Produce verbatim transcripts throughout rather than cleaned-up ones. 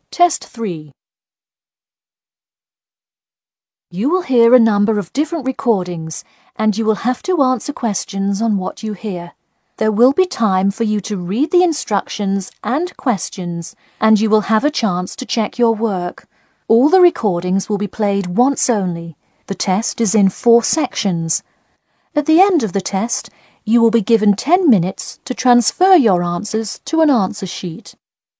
Test three. You will hear a number of different recordings and you will have to answer questions on what you hear. There will be time for you to read the instructions and questions and you will have a chance to check your work. All the recordings will be played once only. The test is in four sections. At the end of the test, you will be given ten minutes to transfer your answers to an answer sheet.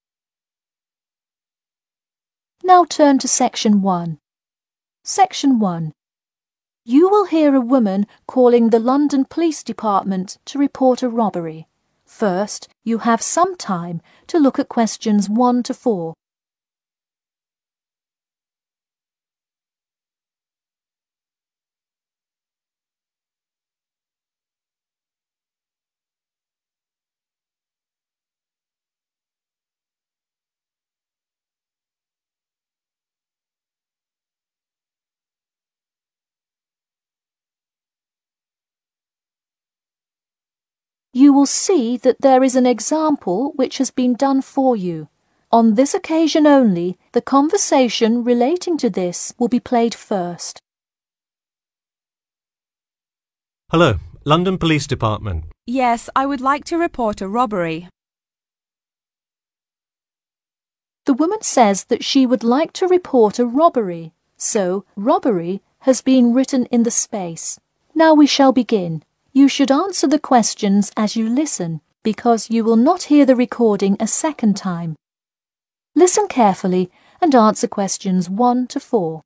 Now turn to Section one. Section one. You will hear a woman calling the London Police Department to report a robbery. First, you have some time to look at questions one to four. You will see that there is an example which has been done for you. On this occasion only, the conversation relating to this will be played first. Hello, London Police Department. Yes, I would like to report a robbery. The woman says that she would like to report a robbery, so robbery has been written in the space. Now we shall begin. You should answer the questions as you listen, because you will not hear the recording a second time. Listen carefully and answer questions one to four.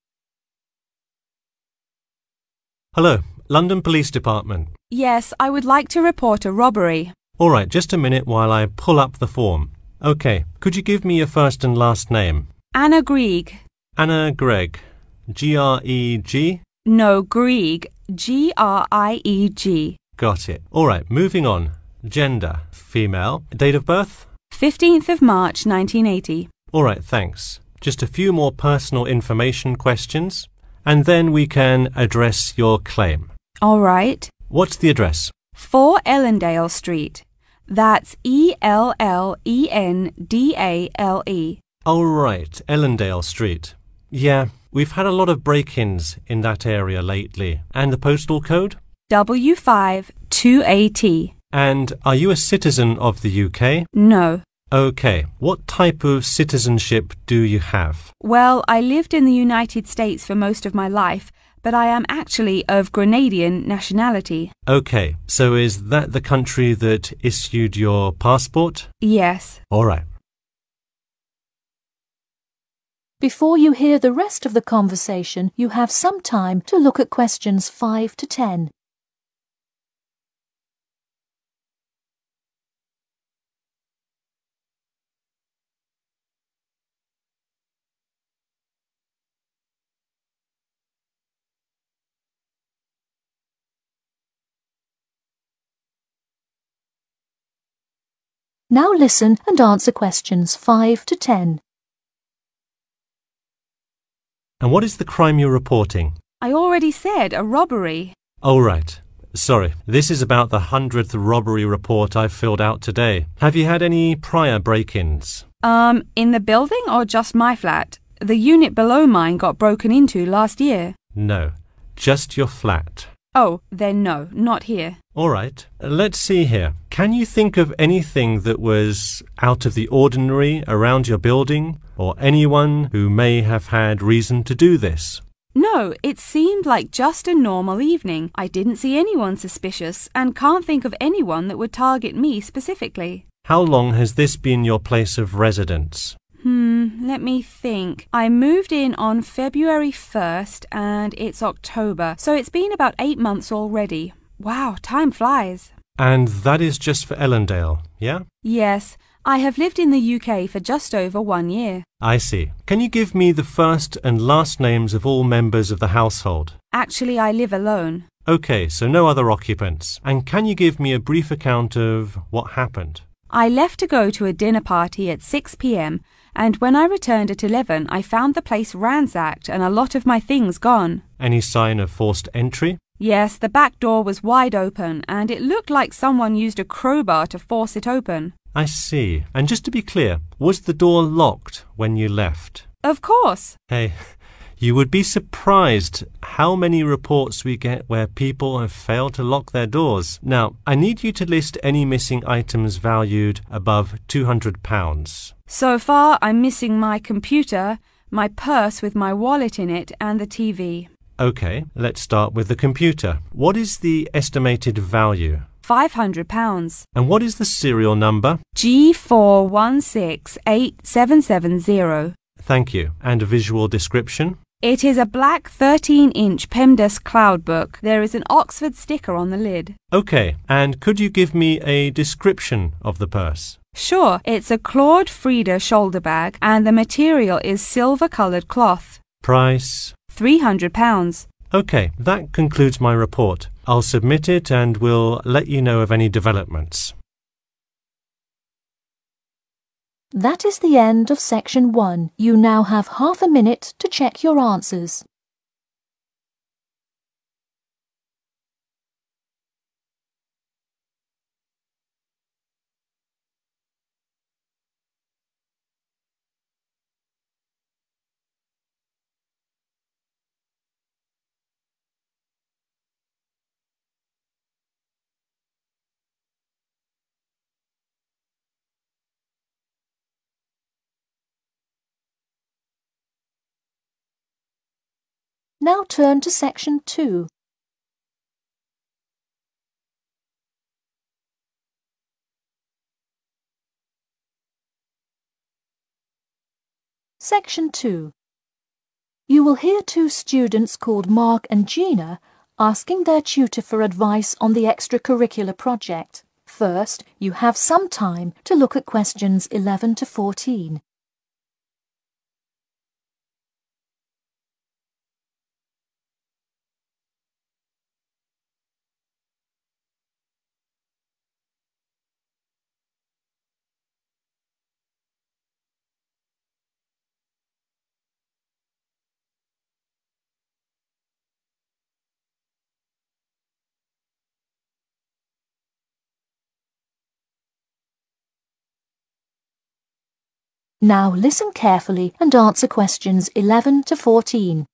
Hello, London Police Department. Yes, I would like to report a robbery. All right, just a minute while I pull up the form. OK, could you give me your first and last name? Anna Grieg. Anna Gregg. G R E G? No, Grieg. G R I E G. Got it. All right, moving on. Gender, female. Date of birth? fifteenth of March, nineteen eighty. All right, thanks. Just a few more personal information questions, and then we can address your claim. All right. What's the address? four Ellendale Street. That's E L L E N D A L E. All right, Ellendale Street. Yeah, we've had a lot of break-ins in that area lately. And the postal code? W five two A T. And are you a citizen of the U K? No. OK. What type of citizenship do you have? Well, I lived in the United States for most of my life, but I am actually of Grenadian nationality. OK. So is that the country that issued your passport? Yes. All right. Before you hear the rest of the conversation, you have some time to look at questions five to ten. Now listen and answer questions five to ten. And what is the crime you're reporting? I already said a robbery. Oh, right. Sorry. This is about the hundredth robbery report I've filled out today. Have you had any prior break-ins? Um, in the building or just my flat? The unit below mine got broken into last year. No. Just your flat. Oh, then no, not here. All right. Let's see here. Can you think of anything that was out of the ordinary around your building, or anyone who may have had reason to do this? No, it seemed like just a normal evening. I didn't see anyone suspicious and can't think of anyone that would target me specifically. How long has this been your place of residence? Hmm, let me think. I moved in on February first and it's October, so it's been about eight months already. Wow, time flies. And that is just for Ellendale, yeah? Yes, I have lived in the U K for just over one year. I see. Can you give me the first and last names of all members of the household? Actually, I live alone. OK, so no other occupants. And can you give me a brief account of what happened? I left to go to a dinner party at six p m and when I returned at eleven, I found the place ransacked and a lot of my things gone. Any sign of forced entry? Yes, the back door was wide open and it looked like someone used a crowbar to force it open. I see. And just to be clear, was the door locked when you left? Of course. Hey, you would be surprised how many reports we get where people have failed to lock their doors. Now, I need you to list any missing items valued above two hundred pounds. So far, I'm missing my computer, my purse with my wallet in it, and the T V. Okay, let's start with the computer. What is the estimated value? five hundred pounds. And what is the serial number? G four one six eight seven seven zero. Thank you. And a visual description? It is a black thirteen inch PEMDAS cloud book. There is an Oxford sticker on the lid. Okay, and could you give me a description of the purse? Sure, it's a Claude Frida shoulder bag and the material is silver-coloured cloth. Price? three hundred pounds. Okay, that concludes my report. I'll submit it and we'll let you know of any developments. That is the end of section one. You now have half a minute to check your answers. Now turn to section two. Section two. You will hear two students called Mark and Gina asking their tutor for advice on the extracurricular project. First, you have some time to look at questions eleven to fourteen. Now listen carefully and answer questions eleven to fourteen.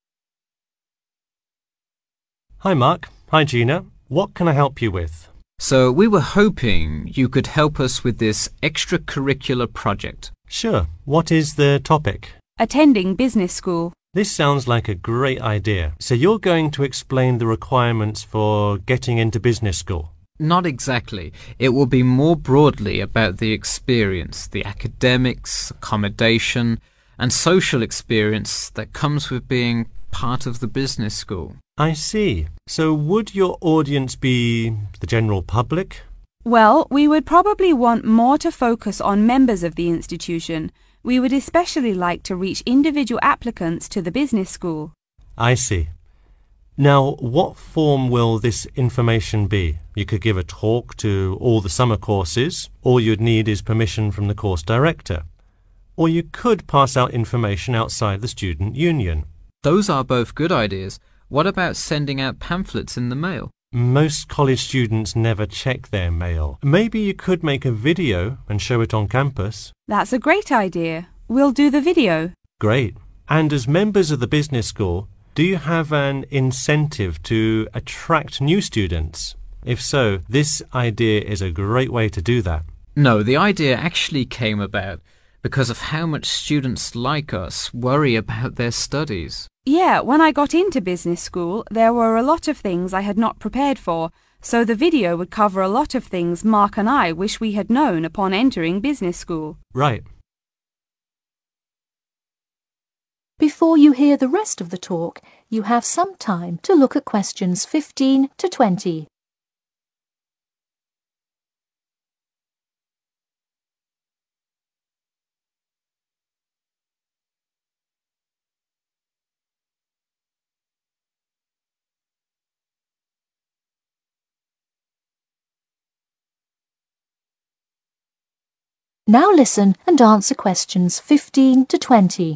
Hi Mark. Hi Gina. What can I help you with? So we were hoping you could help us with this extracurricular project. Sure. What is the topic? Attending business school. This sounds like a great idea. So you're going to explain the requirements for getting into business school? Not exactly. It will be more broadly about the experience, the academics, accommodation, and social experience that comes with being part of the business school. I see. So would your audience be the general public? Well, we would probably want more to focus on members of the institution. We would especially like to reach individual applicants to the business school. I see. Now, what form will this information be? You could give a talk to all the summer courses. All you'd need is permission from the course director. Or you could pass out information outside the student union. Those are both good ideas. What about sending out pamphlets in the mail? Most college students never check their mail. Maybe you could make a video and show it on campus. That's a great idea. We'll do the video. Great. And as members of the business school, do you have an incentive to attract new students? If so, this idea is a great way to do that. No, the idea actually came about because of how much students like us worry about their studies. Yeah, when I got into business school, there were a lot of things I had not prepared for, so the video would cover a lot of things Mark and I wish we had known upon entering business school. Right. Before you hear the rest of the talk, you have some time to look at questions fifteen to twenty. Now listen and answer questions fifteen to twenty.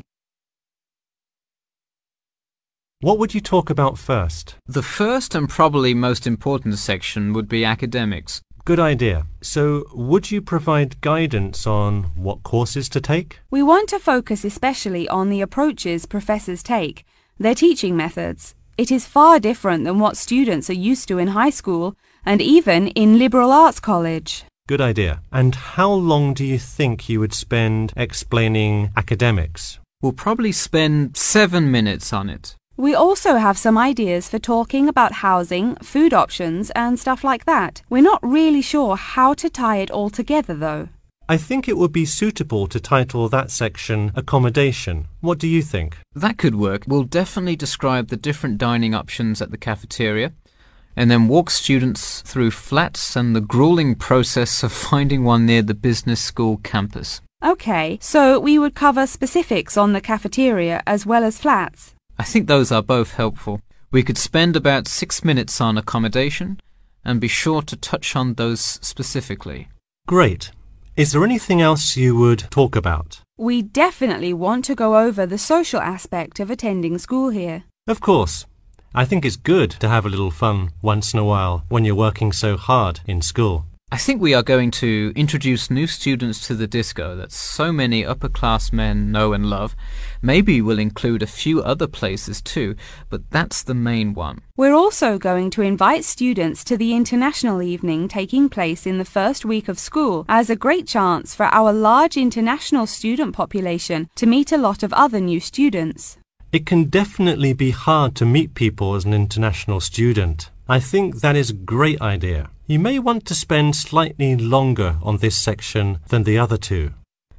What would you talk about first? The first and probably most important section would be academics. Good idea. So, would you provide guidance on what courses to take? We want to focus especially on the approaches professors take, their teaching methods. It is far different than what students are used to in high school and even in liberal arts college. Good idea. And how long do you think you would spend explaining academics? We'll probably spend seven minutes on it. We also have some ideas for talking about housing, food options and stuff like that. We're not really sure how to tie it all together though. I think it would be suitable to title that section Accommodation. What do you think? That could work. We'll definitely describe the different dining options at the cafeteria and then walk students through flats and the grueling process of finding one near the business school campus. Okay, so we would cover specifics on the cafeteria as well as flats. I think those are both helpful. We could spend about six minutes on accommodation and be sure to touch on those specifically. Great. Is there anything else you would talk about? We definitely want to go over the social aspect of attending school here. Of course. I think it's good to have a little fun once in a while when you're working so hard in school. I think we are going to introduce new students to the disco that so many upper-class men know and love. Maybe we'll include a few other places too, but that's the main one. We're also going to invite students to the international evening taking place in the first week of school as a great chance for our large international student population to meet a lot of other new students. It can definitely be hard to meet people as an international student. I think that is a great idea. You may want to spend slightly longer on this section than the other two.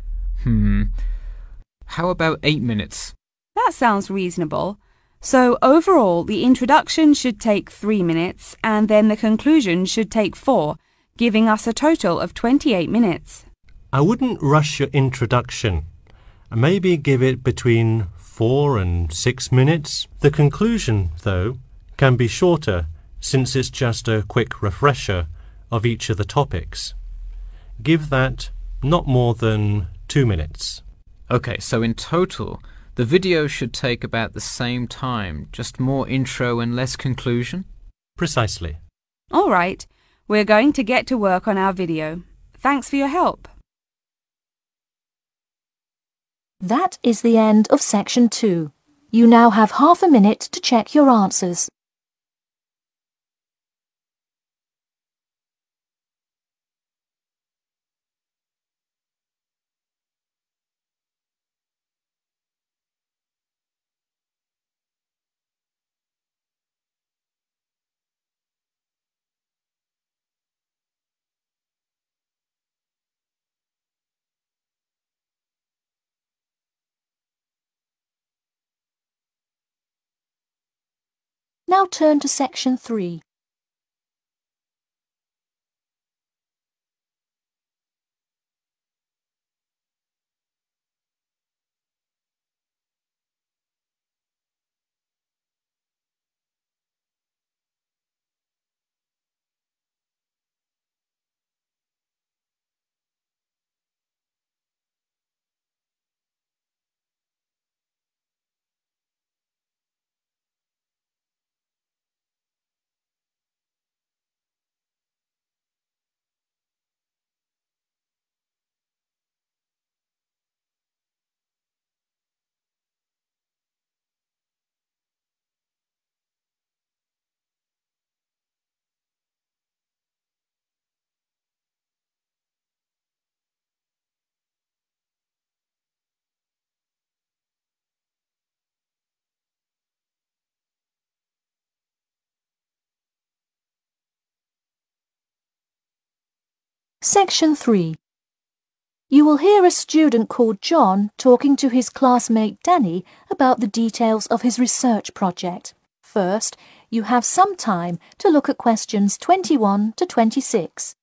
Hmm. How about eight minutes? That sounds reasonable. So overall, the introduction should take three minutes and then the conclusion should take four, giving us a total of twenty-eight minutes. I wouldn't rush your introduction. Maybe give it between four and six minutes. The conclusion, though, can be shorter since it's just a quick refresher of each of the topics. Give that not more than two minutes. Okay, so in total, the video should take about the same time, just more intro and less conclusion? Precisely. All right, we're going to get to work on our video. Thanks for your help. That is the end of section two. You now have half a minute to check your answers. Now turn to section three. Section three. You will hear a student called John talking to his classmate Danny about the details of his research project. First, you have some time to look at questions twenty-one to twenty-six.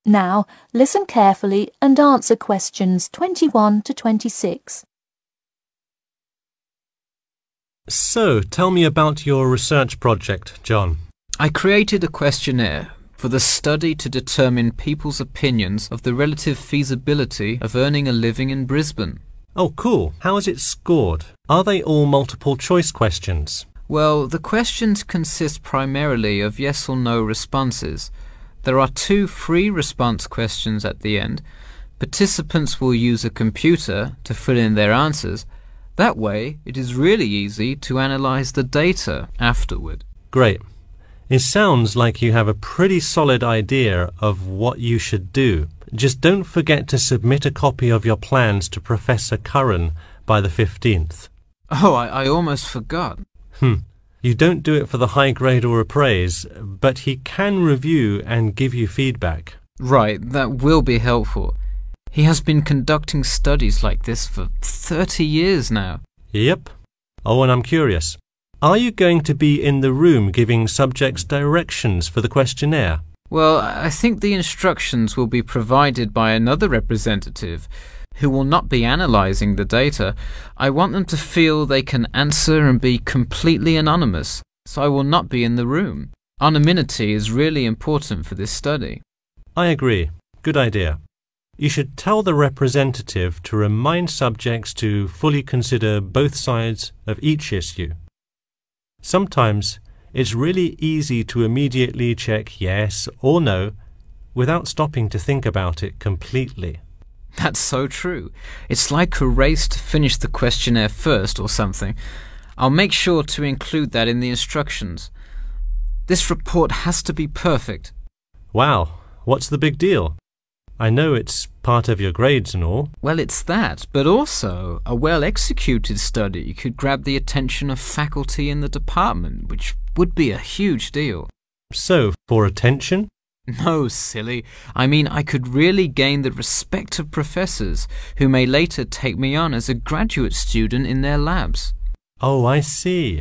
Now, listen carefully and answer questions twenty-one to twenty-six. So, tell me about your research project, John. I created a questionnaire for the study to determine people's opinions of the relative feasibility of earning a living in Brisbane. Oh, cool. How is it scored? Are they all multiple choice questions? Well, the questions consist primarily of yes or no responses. There are two free response questions at the end. Participants will use a computer to fill in their answers. That way, it is really easy to analyze the data afterward. Great. It sounds like you have a pretty solid idea of what you should do. Just don't forget to submit a copy of your plans to Professor Curran by the fifteenth. Oh, I, I almost forgot. Hmm. You don't do it for the high grade or appraise, but he can review and give you feedback. Right, that will be helpful. He has been conducting studies like this for thirty years now. Yep. Oh, and I'm curious. Are you going to be in the room giving subjects directions for the questionnaire? Well, I think the instructions will be provided by another representative who will not be analysing the data. I want them to feel they can answer and be completely anonymous, so I will not be in the room. Anonymity is really important for this study. I agree. Good idea. You should tell the representative to remind subjects to fully consider both sides of each issue. Sometimes it's really easy to immediately check yes or no without stopping to think about it completely. That's so true. It's like a race to finish the questionnaire first or something. I'll make sure to include that in the instructions. This report has to be perfect. Wow, what's the big deal? I know it's part of your grades and all. Well, it's that, but also a well-executed study could grab the attention of faculty in the department, which would be a huge deal. So, for attention? No, silly. I mean, I could really gain the respect of professors who may later take me on as a graduate student in their labs. Oh, I see.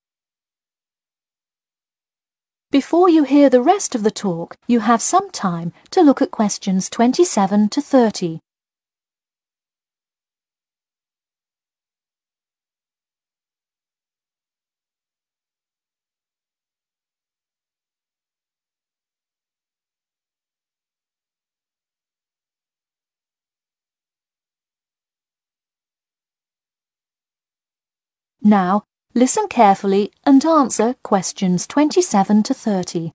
Before you hear the rest of the talk, you have some time to look at questions twenty-seven to thirty. Now, listen carefully and answer questions twenty-seven to thirty.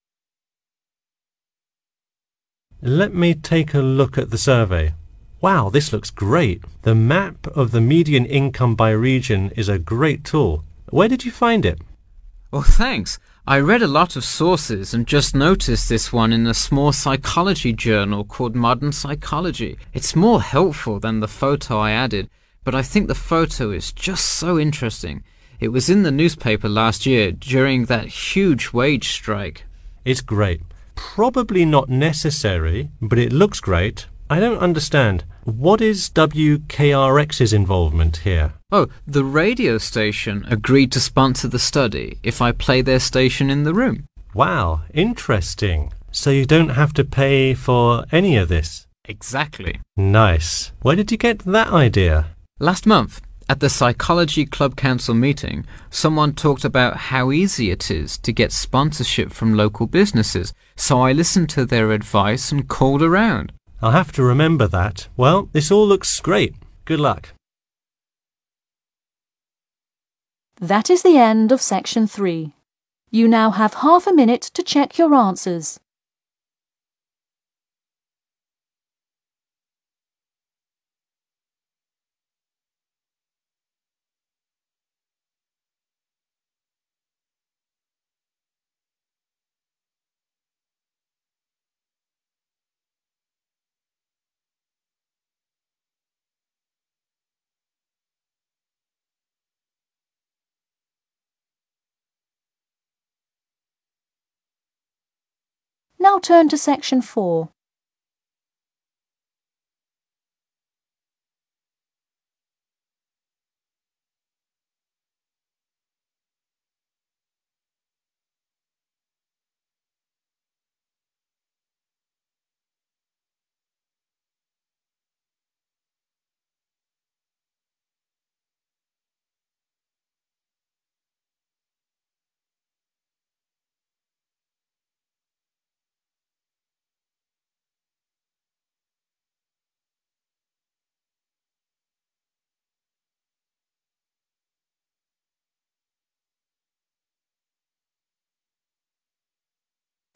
Let me take a look at the survey. Wow, this looks great. The map of the median income by region is a great tool. Where did you find it? Oh, thanks. I read a lot of sources and just noticed this one in a small psychology journal called Modern Psychology. It's more helpful than the photo I added, but I think the photo is just so interesting. It was in the newspaper last year during that huge wage strike. It's great. Probably not necessary, but it looks great. I don't understand. What is W K R X's involvement here? Oh, the radio station agreed to sponsor the study if I play their station in the room. Wow, interesting. So you don't have to pay for any of this? Exactly. Nice. Where did you get that idea? Last month, at the Psychology Club Council meeting, someone talked about how easy it is to get sponsorship from local businesses, so I listened to their advice and called around. I'll have to remember that. Well, this all looks great. Good luck. That is the end of section three. You now have half a minute to check your answers. Now turn to section four.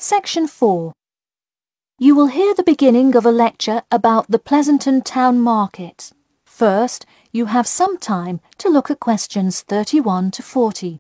Section four. You will hear the beginning of a lecture about the Pleasanton Town Market. First, you have some time to look at questions thirty-one to forty.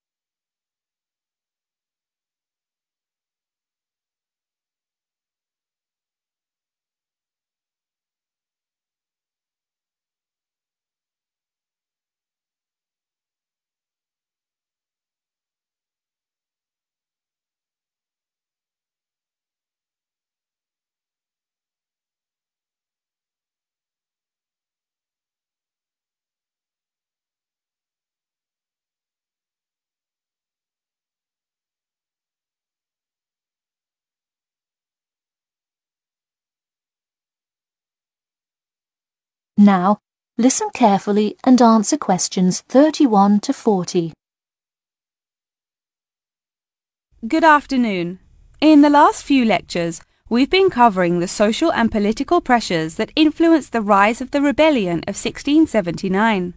Now, listen carefully and answer questions thirty-one to forty. Good afternoon. In the last few lectures, we've been covering the social and political pressures that influenced the rise of the rebellion of sixteen seventy-nine.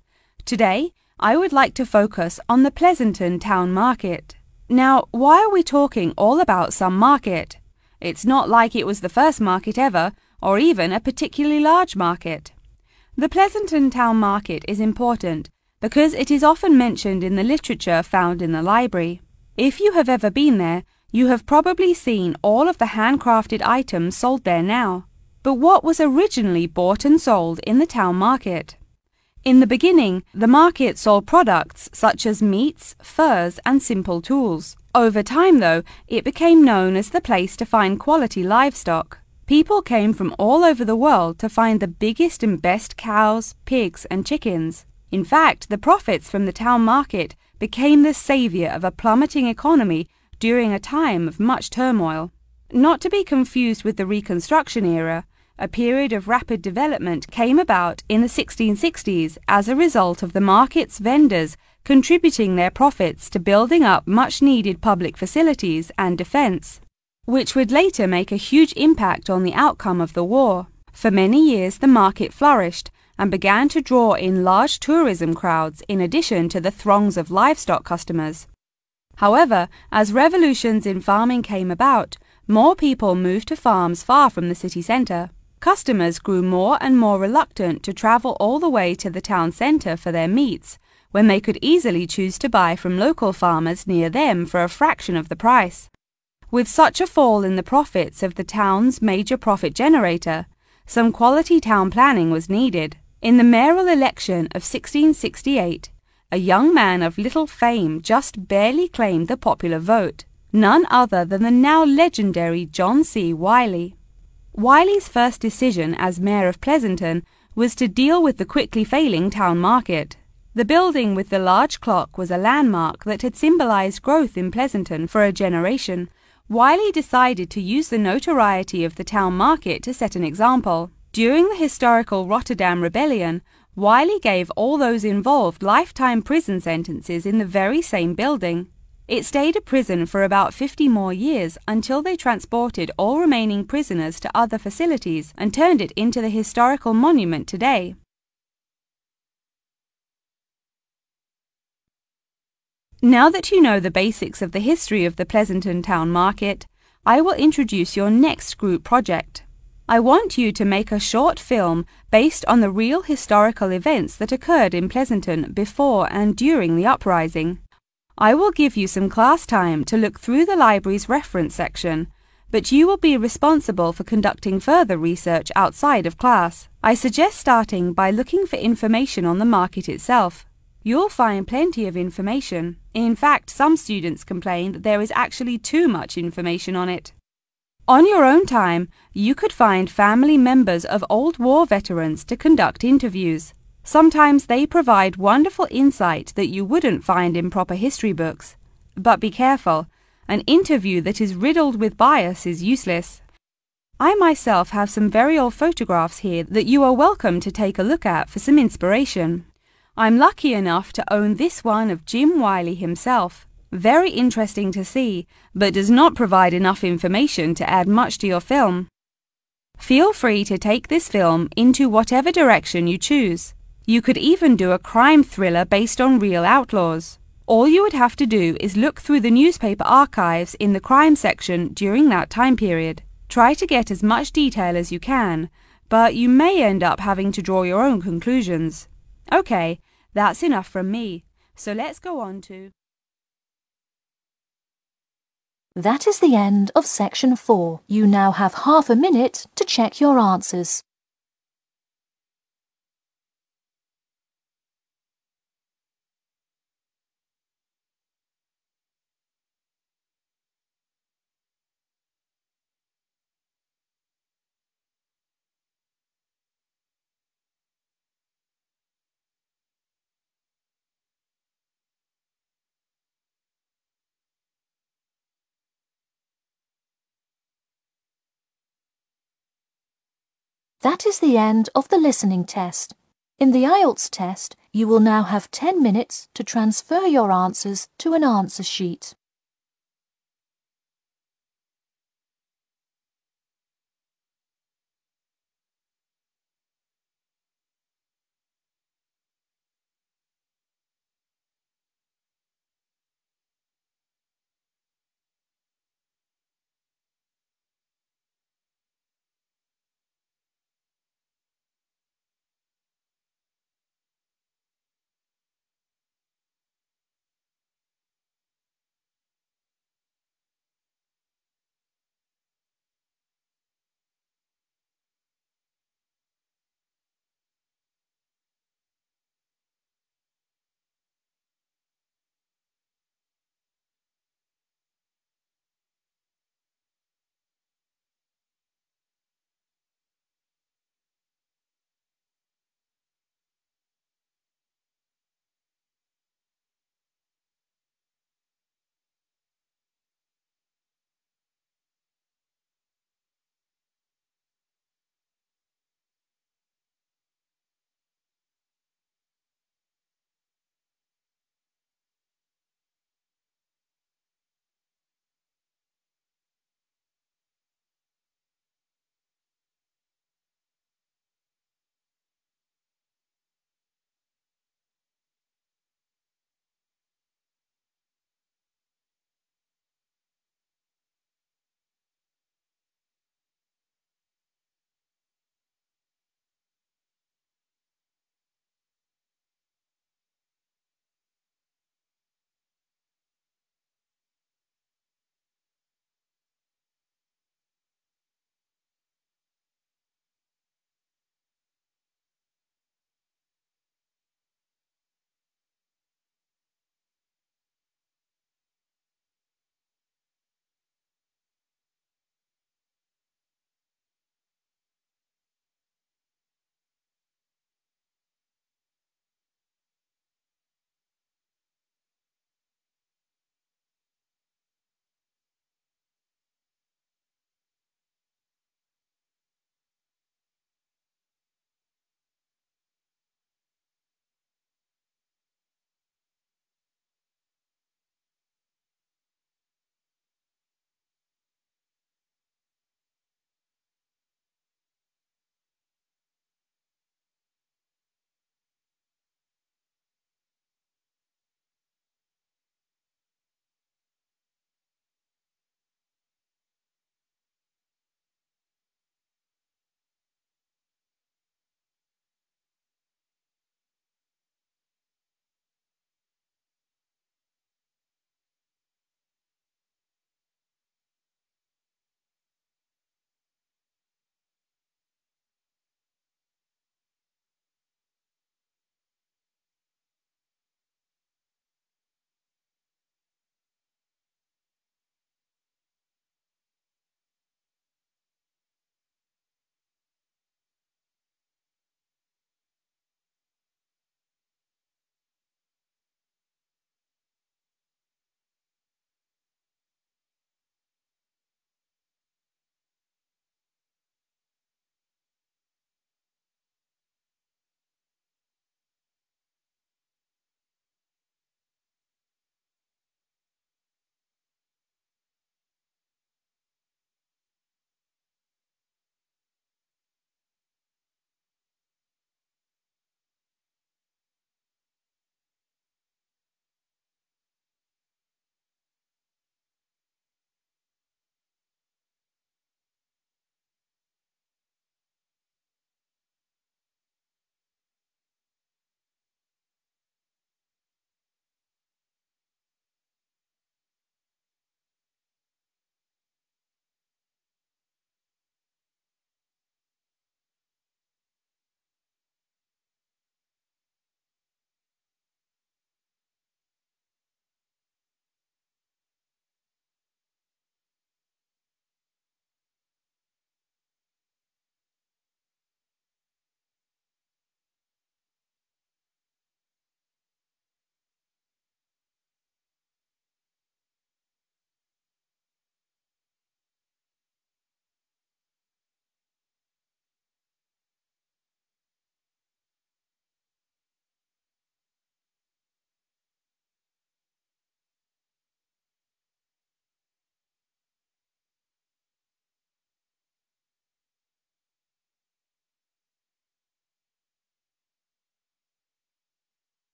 Today, I would like to focus on the Pleasanton Town Market. Now, why are we talking all about some market? It's not like it was the first market ever, or even a particularly large market. The Pleasanton Town Market is important because it is often mentioned in the literature found in the library. If you have ever been there, you have probably seen all of the handcrafted items sold there now. But what was originally bought and sold in the town market? In the beginning, the market sold products such as meats, furs, and simple tools. Over time, though, it became known as the place to find quality livestock. People came from all over the world to find the biggest and best cows, pigs, and chickens. In fact, the profits from the town market became the savior of a plummeting economy during a time of much turmoil. Not to be confused with the Reconstruction era, a period of rapid development came about in the sixteen sixties as a result of the market's vendors contributing their profits to building up much-needed public facilities and defense, which would later make a huge impact on the outcome of the war. For many years, the market flourished and began to draw in large tourism crowds in addition to the throngs of livestock customers. However, as revolutions in farming came about, more people moved to farms far from the city centre. Customers grew more and more reluctant to travel all the way to the town centre for their meats, when they could easily choose to buy from local farmers near them for a fraction of the price. With such a fall in the profits of the town's major profit generator, some quality town planning was needed. In the mayoral election of sixteen sixty-eight, a young man of little fame just barely claimed the popular vote, none other than the now legendary John C. Wiley. Wiley's first decision as mayor of Pleasanton was to deal with the quickly failing town market. The building with the large clock was a landmark that had symbolized growth in Pleasanton for a generation. Wiley decided to use the notoriety of the town market to set an example. During the historical Rotterdam Rebellion, Wiley gave all those involved lifetime prison sentences in the very same building. It stayed a prison for about fifty more years until they transported all remaining prisoners to other facilities and turned it into the historical monument today. Now that you know the basics of the history of the Pleasanton Town Market, I will introduce your next group project. I want you to make a short film based on the real historical events that occurred in Pleasanton before and during the uprising. I will give you some class time to look through the library's reference section, but you will be responsible for conducting further research outside of class. I suggest starting by looking for information on the market itself. You'll find plenty of information. In fact, some students complain that there is actually too much information on it. On your own time, you could find family members of old war veterans to conduct interviews. Sometimes they provide wonderful insight that you wouldn't find in proper history books. But be careful, an interview that is riddled with bias is useless. I myself have some very old photographs here that you are welcome to take a look at for some inspiration. I'm lucky enough to own this one of Jim Wiley himself. Very interesting to see, but does not provide enough information to add much to your film. Feel free to take this film into whatever direction you choose. You could even do a crime thriller based on real outlaws. All you would have to do is look through the newspaper archives in the crime section during that time period. Try to get as much detail as you can, but you may end up having to draw your own conclusions. Okay, that's enough from me, so let's go on to... That is the end of section four. You now have half a minute to check your answers. That is the end of the listening test. In the I E L T S test, you will now have ten minutes to transfer your answers to an answer sheet.